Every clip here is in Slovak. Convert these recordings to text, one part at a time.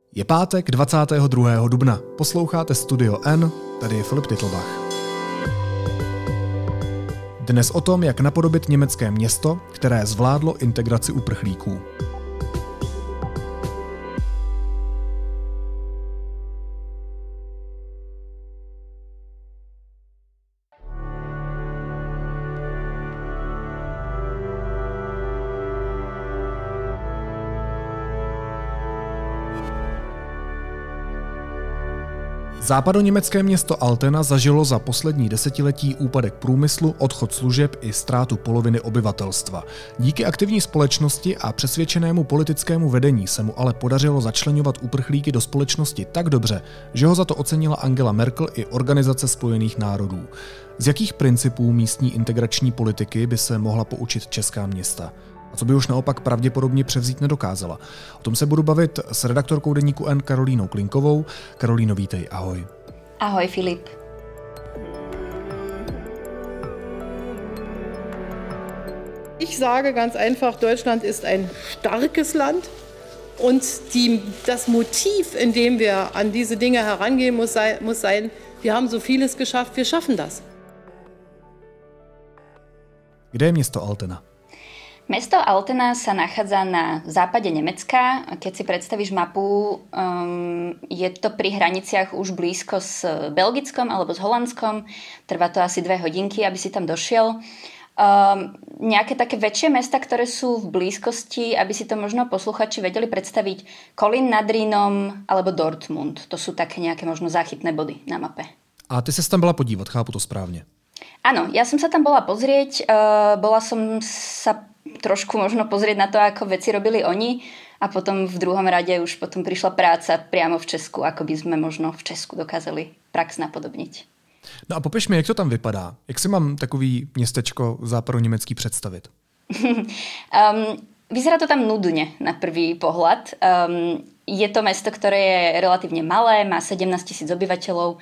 Je pátek 22. dubna. Posloucháte Studio N, tady je Filip Titlbach. Dnes o tom, jak napodobit německé město, které zvládlo integraci uprchlíků. Západoněmecké město Altena zažilo za poslední desetiletí úpadek průmyslu, odchod služeb i ztrátu poloviny obyvatelstva. Díky aktivní společnosti a přesvědčenému politickému vedení se mu ale podařilo začleňovat uprchlíky do společnosti tak dobře, že ho za to ocenila Angela Merkel i Organizace spojených národů. Z jakých principů místní integrační politiky by se mohla poučit česká města? A co by už naopak pravděpodobně převzít nedokázala? O tom se budu bavit s redaktorkou deníku N Karolínou Klinkovou. Karolíno, vítej, ahoj. Ahoj, Filip. Ich sage ganz einfach, Deutschland ist ein starkes Land und das Motiv, in dem wir an diese Dinge herangehen, muss sein, wir haben so vieles geschafft, wir schaffen das. Kde je město Altena? Mesto Altena sa nachádza na západe Nemecka. Keď si predstavíš mapu, je to pri hraniciach už blízko s Belgickom alebo s Holandskom. Trvá to asi 2 hodinky, aby si tam došiel. Nejaké také väčšie mesta, ktoré sú v blízkosti, aby si to možno posluchači vedeli predstaviť, Kolín nad Rýnom alebo Dortmund. To sú také nejaké možno záchytné body na mape. A ty sa tam bola podívať, chápu to správne? Áno, ja som sa tam bola pozrieť. Bola som sa trošku možno pozrieť na to, ako veci robili oni, a potom v druhom rade už potom prišla práca priamo v Česku, ako by sme možno v Česku dokázali prax napodobniť. No a popiš mi, jak to tam vypadá. Jak si mám takový městečko západoněmecký představit? Vyzerá to tam nudne na prvý pohľad. Je to mesto, ktoré je relatívne malé, má 17 000 obyvateľov.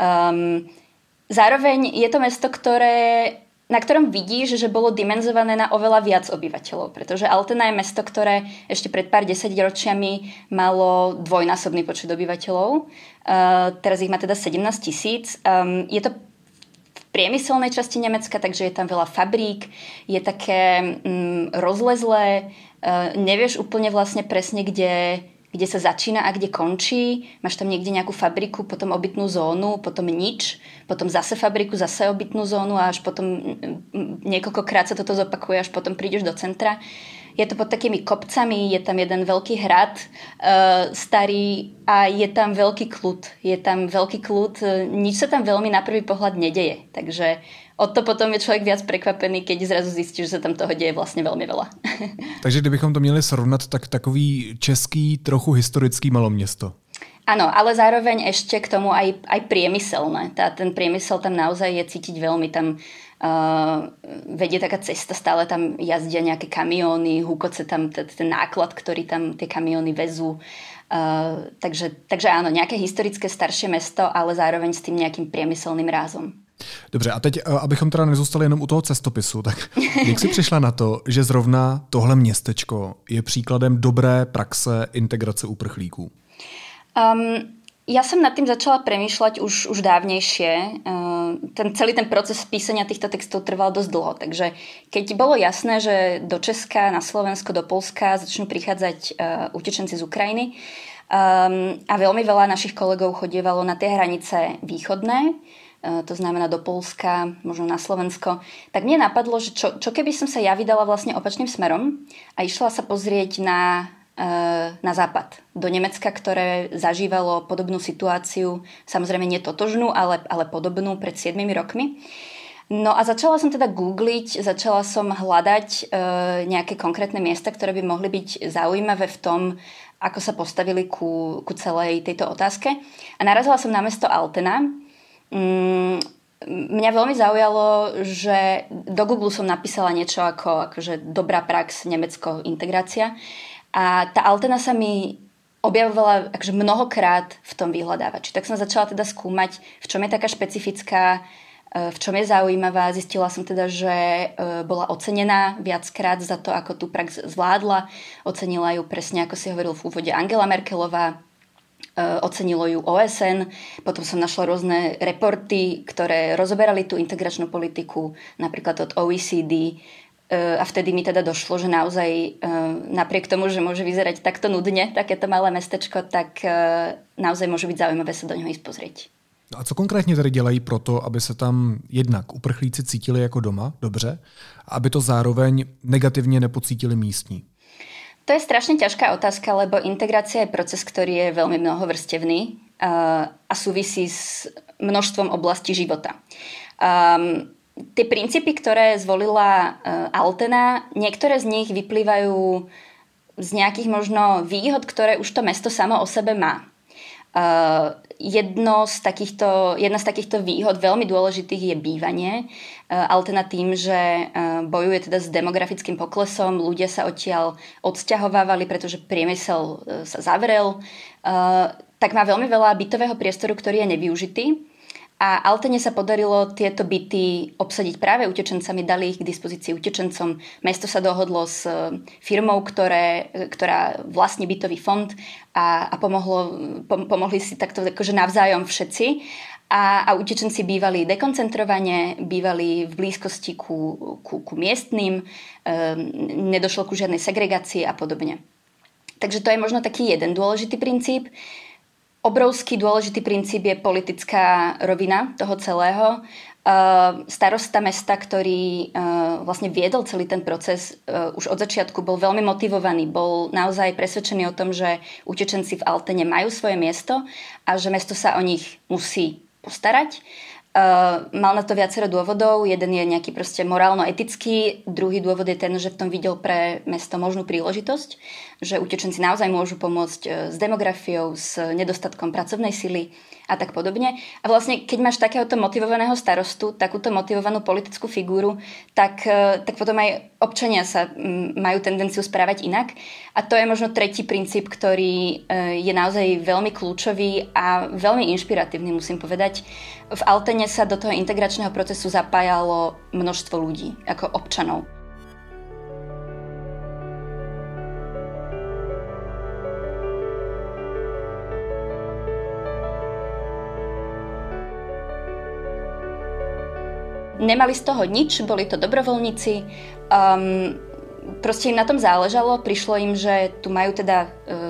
Zároveň je to mesto, na ktorom vidíš, že bolo dimenzované na oveľa viac obyvateľov, pretože Altena je mesto, ktoré ešte pred pár desaťročiami malo dvojnásobný počet obyvateľov. Teraz ich má teda 17 000. Je to v priemyselnej časti Nemecka, takže je tam veľa fabrík, je také rozlezlé, nevieš úplne vlastne presne, kde sa začína a kde končí. Máš tam niekde nejakú fabriku, potom obytnú zónu, potom nič, potom zase fabriku, zase obytnú zónu a až potom niekoľkokrát sa toto zopakuje, až potom prídeš do centra. Je to pod takými kopcami, je tam jeden veľký hrad starý a je tam veľký kľud. Nič sa tam veľmi na prvý pohľad nedeje, takže o to potom je člověk viac prekvapený, keď zrazu zjistí, že se tam toho děje vlastně velmi veľa. Takže kdybychom to měli srovnat, tak takový český, trochu historický maloměsto. Áno, ale zároveň ešte k tomu aj priemyselné. Ten priemysel tam naozaj je cítiť veľmi. Tam vedie taká cesta, stále tam jazdia nejaké kamióny, húkoce tam ten náklad, ktorý tam tie kamióny vezú. Takže áno, nejaké historické staršie mesto, ale zároveň s tým nejakým priemyselným rázom. Dobře, a teď, abychom teda nezůstali jenom u toho cestopisu, tak jak jsi přišla na to, že zrovna tohle městečko je příkladem dobré praxe integrace uprchlíků? Ja som nad tým začala premýšľať už dávnejšie. Celý ten proces písania týchto textov trval dosť dlho, takže keď bolo jasné, že do Česka, na Slovensko, do Poľska začnú prichádzať utečenci z Ukrajiny a veľmi veľa našich kolegov chodievalo na tie hranice východné, to znamená do Poľska, možno na Slovensko, tak mne napadlo, že čo keby som sa ja vydala vlastne opačným smerom a išla sa pozrieť na západ, do Nemecka, ktoré zažívalo podobnú situáciu, samozrejme netotožnú, ale podobnú pred 7 rokmi. No a začala som teda googliť, začala som hľadať nejaké konkrétne miesta, ktoré by mohli byť zaujímavé v tom, ako sa postavili ku celej tejto otázke. A narazila som na mesto Altena. Mňa veľmi zaujalo, že do Google som napísala niečo akože dobrá prax, Nemecko, integrácia. A tá Altena sa mi objavovala akože mnohokrát v tom vyhľadávači. Tak som začala teda skúmať, v čom je taká špecifická, v čom je zaujímavá. Zistila som teda, že bola ocenená viackrát za to, ako tú prax zvládla. Ocenila ju presne, ako si hovoril v úvode, Angela Merkelová. Ocenilo ju OSN, potom som našla rôzne reporty, ktoré rozoberali tú integračnú politiku, napríklad od OECD. A vtedy mi teda došlo, že naozaj napriek tomu, že môže vyzerať takto nudne, takéto malé mestečko, tak naozaj môže byť zaujímavé sa do něho ísť pozrieť. No a co konkrétně tedy dělají proto, aby se tam jednak uprchlíci cítili jako doma, dobře, a aby to zároveň negativně nepocítili místní? To je strašne ťažká otázka, lebo integrácia je proces, ktorý je veľmi mnohovrstevný a súvisí s množstvom oblastí života. Tie princípy, ktoré zvolila Altena, niektoré z nich vyplývajú z nejakých možno výhod, ktoré už to mesto samo o sebe má. Jedna z takýchto výhod veľmi dôležitých je bývanie. Altena tým, že bojuje teda s demografickým poklesom, ľudia sa odtiaľ odsťahovávali, pretože priemysel sa zavrel, tak má veľmi veľa bytového priestoru, ktorý je nevyužitý. A Altene sa podarilo tieto byty obsadiť práve utečencami, dali ich k dispozícii utečencom. Mesto sa dohodlo s firmou, ktorá vlastní bytový fond a pomohli si takto akože navzájom všetci. A utečenci bývali dekoncentrovane, bývali v blízkosti ku miestnym, nedošlo ku žiadnej segregácii a podobne. Takže to je možno taký jeden dôležitý princíp. Obrovský dôležitý princíp je politická rovina toho celého. Starosta mesta, ktorý vlastne viedol celý ten proces, už od začiatku bol veľmi motivovaný, bol naozaj presvedčený o tom, že utečenci v Altene majú svoje miesto a že mesto sa o nich musí postarať. Mal na to viacero dôvodov. Jeden je nejaký proste morálno-etický, druhý dôvod je ten, že v tom videl pre mesto možnú príležitosť, že utečenci naozaj môžu pomôcť s demografiou, s nedostatkom pracovnej sily a tak podobne. A vlastne, keď máš takéhoto motivovaného starostu, takúto motivovanú politickú figúru, tak potom aj občania sa majú tendenciu správať inak. A to je možno tretí princíp, ktorý je naozaj veľmi kľúčový a veľmi inšpiratívny, musím povedať. V Altene sa do toho integračného procesu zapájalo množstvo ľudí, ako občanov. Nemali z toho nič, boli to dobrovoľníci. Proste im na tom záležalo, prišlo im, že tu majú teda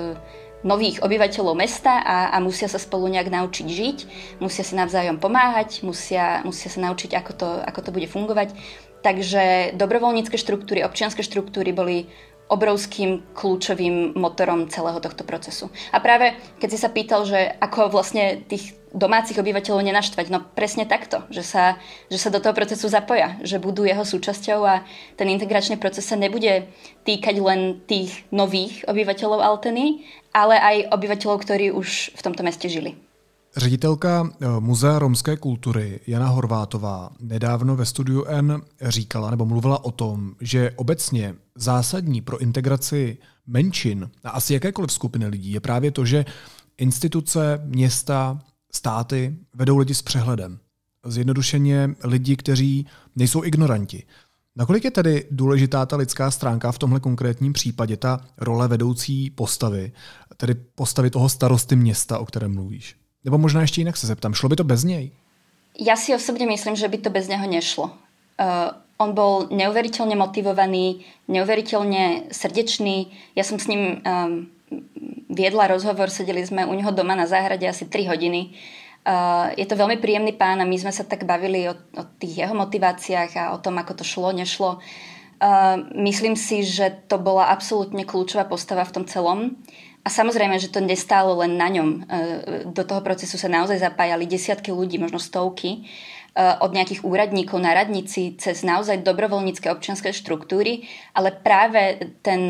nových obyvateľov mesta a musia sa spolu nejak naučiť žiť, musia si navzájom pomáhať, musia sa naučiť, ako to bude fungovať. Takže dobrovoľnícke štruktúry, občianske štruktúry boli obrovským kľúčovým motorom celého tohto procesu. A práve keď si sa pýtal, že ako vlastne tých domácich obyvateľov nenaštvať, no presne takto, že sa do toho procesu zapoja, že budú jeho súčasťou a ten integračný proces sa nebude týkať len tých nových obyvateľov Alteny, ale aj obyvateľov, ktorí už v tomto meste žili. Ředitelka Muzea romské kultury Jana Horvátová nedávno ve Studiu N říkala nebo mluvila o tom, že obecně zásadní pro integraci menšin a asi jakékoliv skupiny lidí je právě to, že instituce, města, státy vedou lidi s přehledem. Zjednodušeně lidi, kteří nejsou ignoranti. Nakolik je tedy důležitá ta lidská stránka v tomhle konkrétním případě, ta role vedoucí postavy, tedy postavy toho starosty města, o kterém mluvíš? Nebo možná ještě jinak se zeptám, šlo by to bez něj? Ja si osobne myslím, že by to bez neho nešlo. On bol neuveriteľne motivovaný, neuveriteľne srdečný. Ja som s ním viedla rozhovor, sedeli sme u neho doma na záhrade asi 3 hodiny. Je to veľmi príjemný pán a my sme sa tak bavili o tých jeho motiváciách a o tom, ako to šlo, nešlo. Myslím si, že to bola absolútne kľúčová postava v tom celom. A samozrejme, že to nestálo len na ňom. Do toho procesu sa naozaj zapájali desiatky ľudí, možno stovky, od nejakých úradníkov na radnici cez naozaj dobrovoľnícke občianske štruktúry, ale práve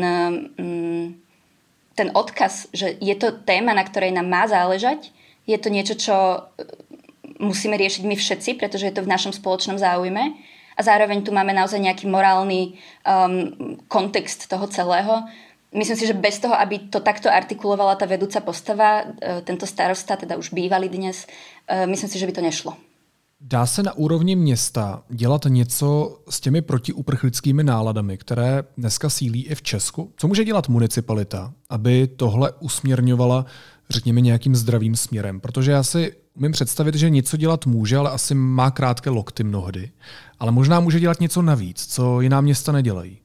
ten odkaz, že je to téma, na ktorej nám má záležať, je to niečo, čo musíme riešiť my všetci, pretože je to v našom spoločnom záujme a zároveň tu máme naozaj nejaký morálny kontext toho celého. Myslím si, že bez toho, aby to takto artikulovala tá vedúca postava, tento starosta, teda už bývalý dnes, myslím si, že by to nešlo. Dá se na úrovni města dělat něco s těmi protiuprchlickými náladami, které dneska sílí i v Česku? Co může dělat municipalita, aby tohle usměrňovala řekněme, nějakým zdravým směrem? Protože já si umím představit, že něco dělat může, ale asi má krátké lokty mnohdy. Ale možná může dělat něco navíc, co jiná města nedělají.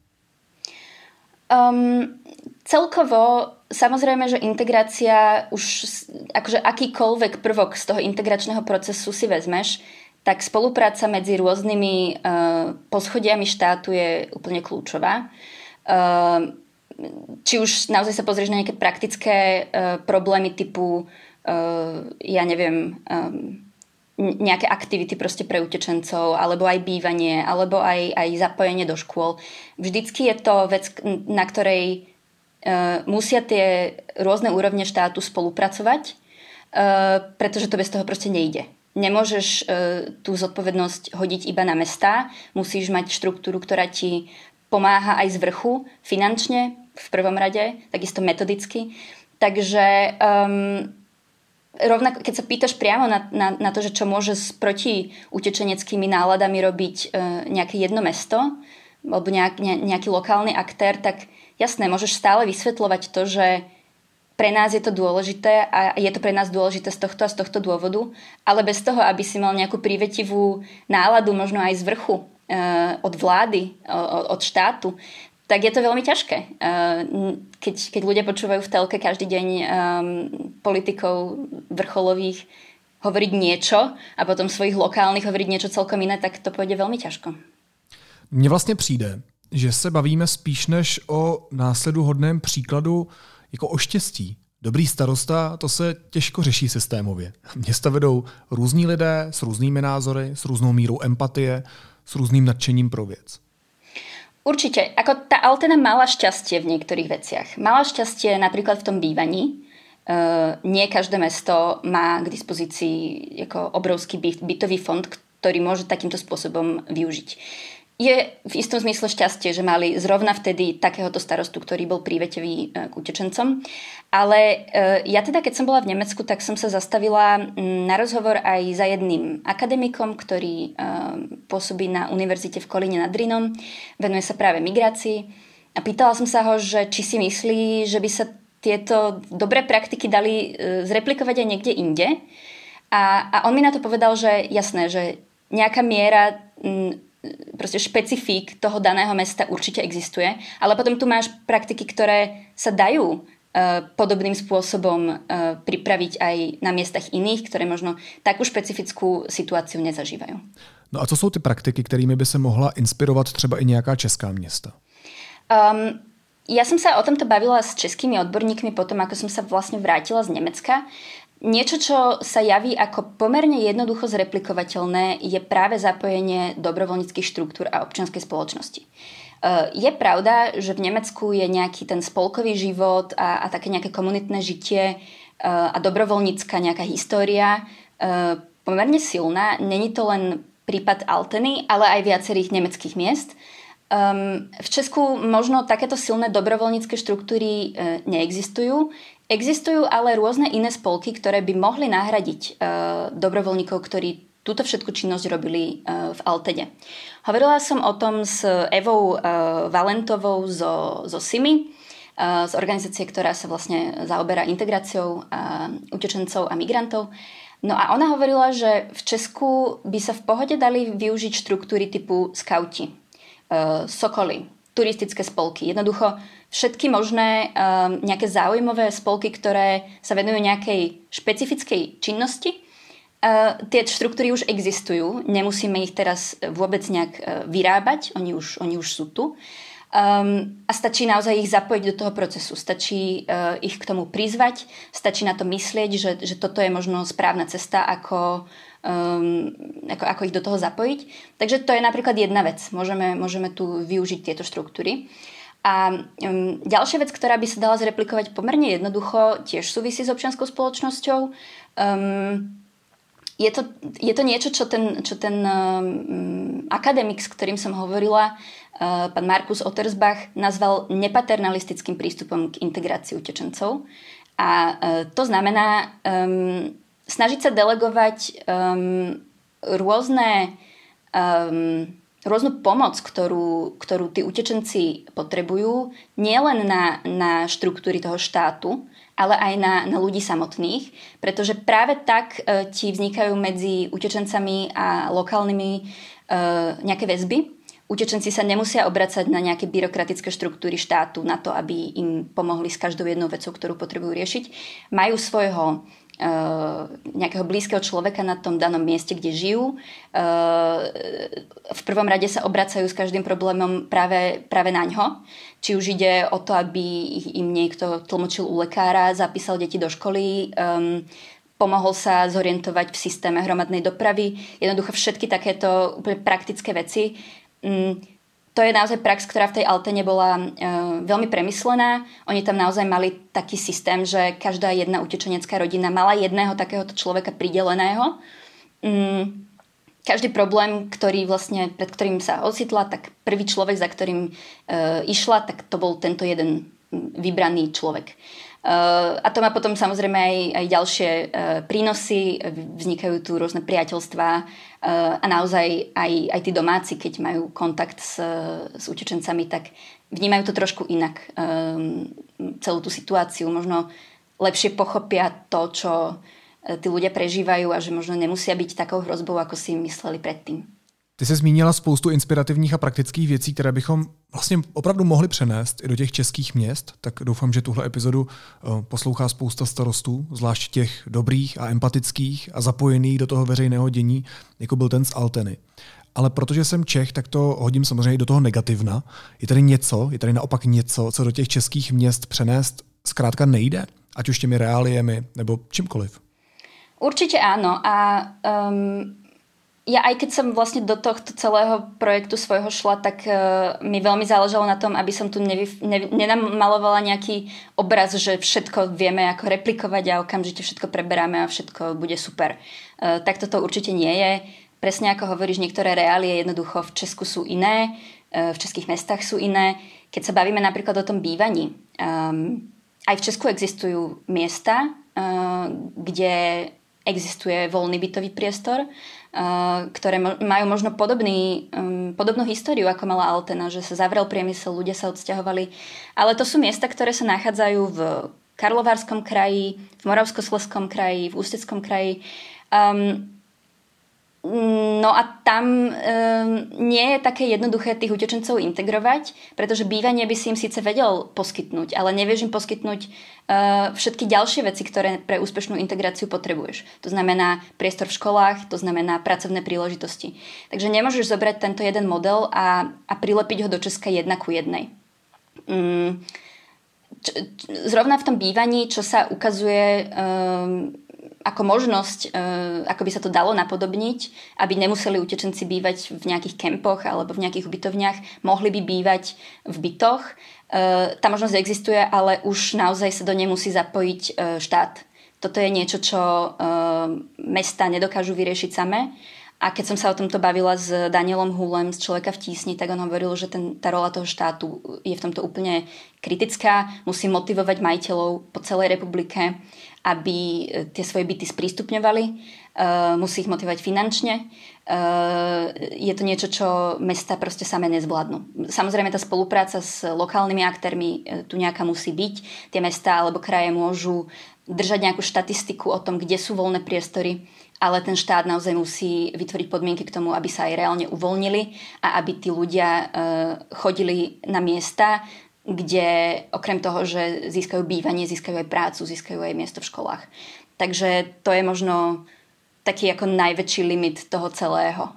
Celkovo, samozrejme, že integrácia už, akože akýkoľvek prvok z toho integračného procesu si vezmeš, tak spolupráca medzi rôznymi poschodiami štátu je úplne kľúčová. Či už naozaj sa pozrieš na nejaké praktické problémy typu, ja neviem, nejaké aktivity proste pre utečencov, alebo aj bývanie, alebo aj zapojenie do škôl. Vždycky je to vec, na ktorej musia tie rôzne úrovne štátu spolupracovať, pretože to bez toho proste nejde. Nemôžeš tú zodpovednosť hodiť iba na mestá, musíš mať štruktúru, ktorá ti pomáha aj z vrchu, finančne v prvom rade, takisto metodicky. Takže rovnako, keď sa pýtaš priamo na to, že čo môže s protiutečeneckými náladami robiť nejaké jedno mesto alebo nejaký lokálny aktér, tak jasné, môžeš stále vysvetľovať to, že pre nás je to dôležité a je to pre nás dôležité z tohto a z tohto dôvodu, ale bez toho, aby si mal nejakú prívetivú náladu, možno aj z vrchu, od vlády, od štátu, tak je to veľmi ťažké. Keď ľudia počúvajú v telke každý deň politikov vrcholových hovoriť niečo a potom svojich lokálnych hovoriť niečo celkom iné, tak to pôjde veľmi ťažko. Mně vlastně přijde, že se bavíme spíš než o následuhodném příkladu jako o štěstí. Dobrý starosta, to se těžko řeší systémově. Města vedou různí lidé s různými názory, s různou mírou empatie, s různým nadšením pro věc. Určite. Ako tá Altena mala šťastie v niektorých veciach. Mala šťastie napríklad v tom bývaní. Nie každé mesto má k dispozícii ako obrovský bytový fond, ktorý môže takýmto spôsobom využiť. Je v istom zmysle šťastie, že mali zrovna vtedy takéhoto starostu, ktorý bol prívetivý k utečencom. Ale ja teda, keď som bola v Nemecku, tak som sa zastavila na rozhovor aj za jedným akademikom, ktorý pôsobí na univerzite v Kolíne nad Rýnom. Venuje sa práve migrácii. A pýtala som sa ho, že či si myslí, že by sa tieto dobré praktiky dali zreplikovať aj niekde inde. A on mi na to povedal, že jasné, že nejaká miera proste špecifík toho daného mesta určite existuje, ale potom tu máš praktiky, ktoré sa dajú podobným spôsobom pripraviť aj na miestach iných, ktoré možno takú špecifickú situáciu nezažívajú. No a co jsou ty praktiky, kterými by se mohla inspirovat třeba i nějaká česká města? Ja som sa o tomto bavila s českými odborníkmi potom, ako som sa vlastne vrátila z Nemecka. Niečo, čo sa javí ako pomerne jednoducho zreplikovateľné, je práve zapojenie dobrovoľníckych štruktúr a občianskej spoločnosti. Je pravda, že v Nemecku je nejaký ten spolkový život a také nejaké komunitné žitie a dobrovoľnícka nejaká história pomerne silná. Není to len prípad Alteny, ale aj viacerých nemeckých miest. V Česku možno takéto silné dobrovoľnícke štruktúry neexistujú. Existujú ale rôzne iné spolky, ktoré by mohli nahradiť dobrovoľníkov, ktorí túto všetku činnosť robili v Altene. Hovorila som o tom s Evou Valentovou zo SIMI, z organizácie, ktorá sa vlastne zaoberá integráciou utečencov a migrantov. No a ona hovorila, že v Česku by sa v pohode dali využiť štruktúry typu skauti, sokoly, turistické spolky. Jednoducho všetky možné nejaké záujmové spolky, ktoré sa venujú nejakej špecifickej činnosti. Tie štruktúry už existujú, nemusíme ich teraz vôbec nejak vyrábať, oni už sú tu. A stačí naozaj ich zapojiť do toho procesu, stačí ich k tomu prizvať, stačí na to myslieť, že toto je možno správna cesta, ako ich do toho zapojiť. Takže to je napríklad jedna vec, môžeme tu využiť tieto štruktúry. A ďalšia vec, ktorá by sa dala zreplikovať pomerne jednoducho, tiež súvisí s občianskou spoločnosťou. Je to niečo, čo ten akademik, s ktorým som hovorila, pán Markus Ottersbach, nazval nepaternalistickým prístupom k integrácii utečencov. A to znamená snažiť sa delegovať rôznu pomoc, ktorú tí utečenci potrebujú, nielen na štruktúry toho štátu, ale aj na ľudí samotných, pretože práve tak ti vznikajú medzi utečencami a lokálnymi nejaké väzby. Utečenci sa nemusia obracať na nejaké byrokratické štruktúry štátu na to, aby im pomohli s každou jednou vecou, ktorú potrebujú riešiť. Majú svojho nejakého blízkeho človeka na tom danom mieste, kde žijú. V prvom rade sa obracajú s každým problémom práve na ňo. Či už ide o to, aby im niekto tlmočil u lekára, zapísal deti do školy, pomohol sa zorientovať v systéme hromadnej dopravy. Jednoducho všetky takéto úplne praktické veci. To je naozaj prax, ktorá v tej Altene bola veľmi premyslená. Oni tam naozaj mali taký systém, že každá jedna utečenecká rodina mala jedného takéhoto človeka prideleného. Každý problém, pred ktorým sa ocitla, tak prvý človek, za ktorým išla, tak to bol tento jeden vybraný človek. A to má potom samozrejme aj ďalšie prínosy, vznikajú tu rôzne priateľstvá a naozaj aj tí domáci, keď majú kontakt s utečencami, tak vnímajú to trošku inak, celú tú situáciu, možno lepšie pochopia to, čo tí ľudia prežívajú a že možno nemusia byť takou hrozbou, ako si mysleli predtým. Ty jsi zmínila spoustu inspirativních a praktických věcí, které bychom vlastně opravdu mohli přenést i do těch českých měst, tak doufám, že tuhle epizodu poslouchá spousta starostů, zvlášť těch dobrých a empatických a zapojených do toho veřejného dění, jako byl ten z Alteny. Ale protože jsem Čech, tak to hodím samozřejmě do toho negativna. Je tady naopak něco, co do těch českých měst přenést zkrátka nejde, ať už těmi reáliemi nebo čímkoliv. Určite áno a ja aj keď som vlastne do tohto celého projektu svojho šla, tak mi veľmi záležalo na tom, aby som tu nenamalovala nejaký obraz, že všetko vieme ako replikovať a okamžite všetko preberáme a všetko bude super. Tak toto určite nie je. Presne ako hovoríš, niektoré reálie jednoducho v Česku sú iné, v českých mestách sú iné. Keď sa bavíme napríklad o tom bývaní, aj v Česku existujú miesta, kde existuje voľný bytový priestor, ktoré majú možno podobnú históriu, ako mala Altena, že sa zavrel priemysel, ľudia sa odsťahovali. Ale to sú miesta, ktoré sa nachádzajú v Karlovárskom kraji, v Moravskoslezskom kraji, v Ústeckom kraji. No a tam nie je také jednoduché tých utečencov integrovať, pretože bývanie by si im síce vedel poskytnúť, ale nevieš im poskytnúť všetky ďalšie veci, ktoré pre úspešnú integráciu potrebuješ. To znamená priestor v školách, to znamená pracovné príležitosti. Takže nemôžeš zobrať tento jeden model a prilepiť ho do Česka 1:1. Zrovna v tom bývaní, čo sa ukazuje ako možnosť, ako by sa to dalo napodobniť, aby nemuseli utečenci bývať v nejakých kempoch alebo v nejakých ubytovniach, mohli by bývať v bytoch. Tá možnosť existuje, ale už naozaj sa do nej musí zapojiť štát. Toto je niečo, čo mesta nedokážu vyriešiť samé. A keď som sa o tomto bavila s Danielom Húlem z Človeka v tísni, tak on hovoril, že tá rola toho štátu je v tomto úplne kritická. Musí motivovať majiteľov po celej republike, aby tie svoje byty sprístupňovali. Musí ich motivovať finančne. Je to niečo, čo mesta proste samé nezvládnu. Samozrejme, tá spolupráca s lokálnymi aktérmi tu nejaká musí byť. Tie mestá alebo kraje môžu držať nejakú štatistiku o tom, kde sú voľné priestory, ale ten štát naozaj musí vytvoriť podmienky k tomu, aby sa aj reálne uvoľnili a aby tí ľudia chodili na miesta, kde okrem toho, že získajú bývanie, získajú aj prácu, získajú aj miesto v školách. Takže to je možno taký ako najväčší limit toho celého.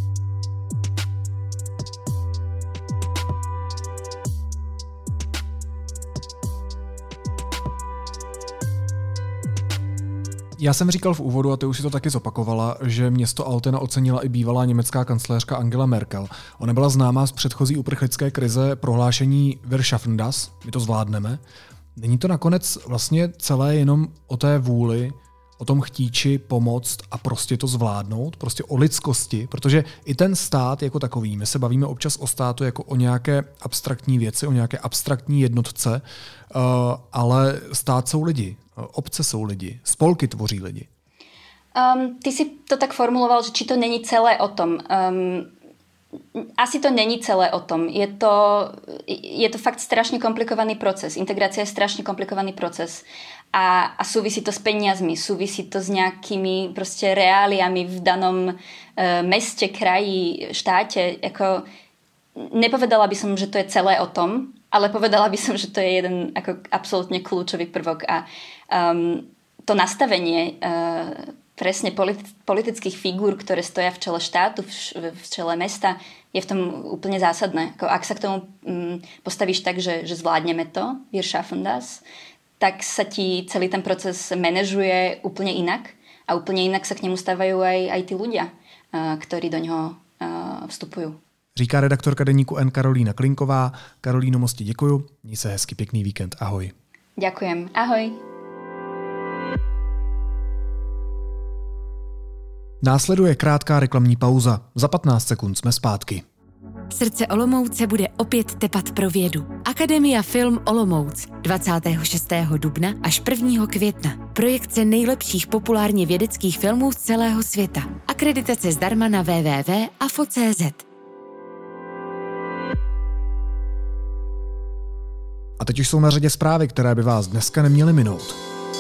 Já jsem říkal v úvodu, a ty už si to taky zopakovala, že město Altena ocenila i bývalá německá kancléřka Angela Merkel. Ona byla známá z předchozí uprchlické krize prohlášení Wir schaffen das, my to zvládneme. Není to nakonec vlastně celé jenom o té vůli, o tom chtíči pomoct a prostě to zvládnout, prostě o lidskosti, protože i ten stát jako takový, my se bavíme občas o státu jako o nějaké abstraktní věci, o nějaké abstraktní jednotce, ale stát jsou lidi, obce jsou lidi, spolky tvoří lidi. Ty si to tak formuloval, že či to není celé o tom. asi to není celé o tom. Je to fakt strašne komplikovaný proces. Integrácia je strašne komplikovaný proces. A súvisí to s peniazmi, súvisí to s nejakými proste reáliami v danom meste, kraji, štáte. Ako, nepovedala by som, že to je celé o tom, ale povedala by som, že to je jeden ako absolútne kľúčový prvok. A to nastavenie presne politických figúr, ktoré stoja v čele štátu, v čele mesta, je v tom úplne zásadné. Ako, ak sa k tomu postavíš tak, že zvládneme to, wir schaffen das, tak sa ti celý ten proces manažuje úplne inak a úplne inak sa k nemu stávajú aj tí ľudia, ktorí do něho vstupujú. Říká redaktorka deníku N Karolína Klinková. Karolíno, moc ti děkuju. Měj se hezky, pěkný víkend. Ahoj. Ďakujem. Ahoj. Následuje krátká reklamní pauza. Za 15 sekund jsme zpátky. Srdce Olomouce bude opět tepat pro vědu. Akademia Film Olomouc 26. dubna až 1. května. Projekce nejlepších populárně vědeckých filmů z celého světa. Akreditace zdarma na www.afo.cz. A teď už jsou na řadě zprávy, které by vás dneska neměly minout.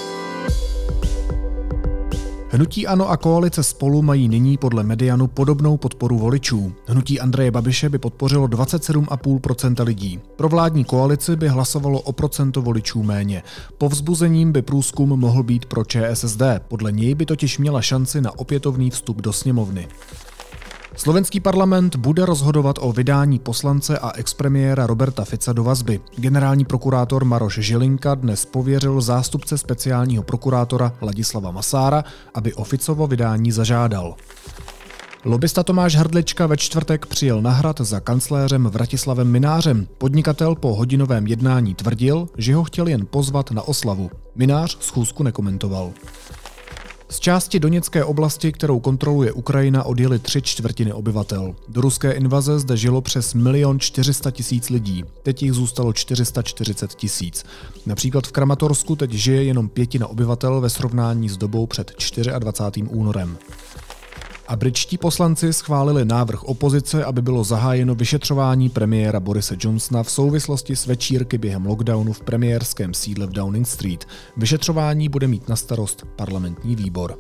Hnutí ANO a koalice Spolu mají nyní podle Medianu podobnou podporu voličů. Hnutí Andreje Babiše by podpořilo 27,5% lidí. Pro vládní koalici by hlasovalo o procento voličů méně. Povzbuzením by průzkum mohl být pro ČSSD. Podle něj by totiž měla šanci na opětovný vstup do sněmovny. Slovenský parlament bude rozhodovat o vydání poslance a expremiéra Roberta Fica do vazby. Generální prokurátor Maroš Žilinka dnes pověřil zástupce speciálního prokurátora Ladislava Masára, aby o Ficovo vydání zažádal. Lobista Tomáš Hrdlička ve čtvrtek přijel na Hrad za kancléřem Vratislavem Mynářem. Podnikatel po hodinovém jednání tvrdil, že ho chtěl jen pozvat na oslavu. Mynář schůzku nekomentoval. Z části Doněcké oblasti, kterou kontroluje Ukrajina, odjeli 3/4 obyvatel. Do ruské invaze zde žilo přes 1 400 000 lidí, teď jich zůstalo 440 000. Například v Kramatorsku teď žije jenom 1/5 obyvatel ve srovnání s dobou před 24. únorem. A britští poslanci schválili návrh opozice, aby bylo zahájeno vyšetřování premiéra Borise Johnsona v souvislosti s večírky během lockdownu v premiérském sídle v Downing Street. Vyšetřování bude mít na starost parlamentní výbor.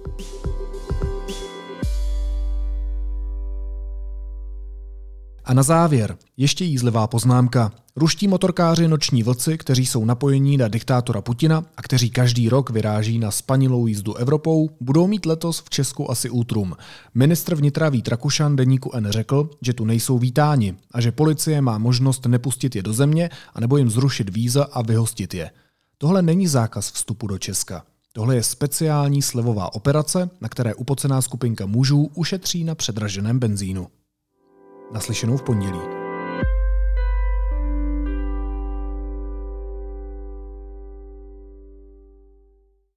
A na závěr ještě jízlivá poznámka. Ruští motorkáři Noční vlci, kteří jsou napojení na diktátora Putina a kteří každý rok vyráží na spanilou jízdu Evropou, budou mít letos v Česku asi útrum. Ministr vnitra Vít Rakušan deníku N řekl, že tu nejsou vítáni a že policie má možnost nepustit je do země anebo jim zrušit víza a vyhostit je. Tohle není zákaz vstupu do Česka. Tohle je speciální slevová operace, na které upocená skupinka mužů ušetří na předraženém benzínu. Naslyšenou v pondělí.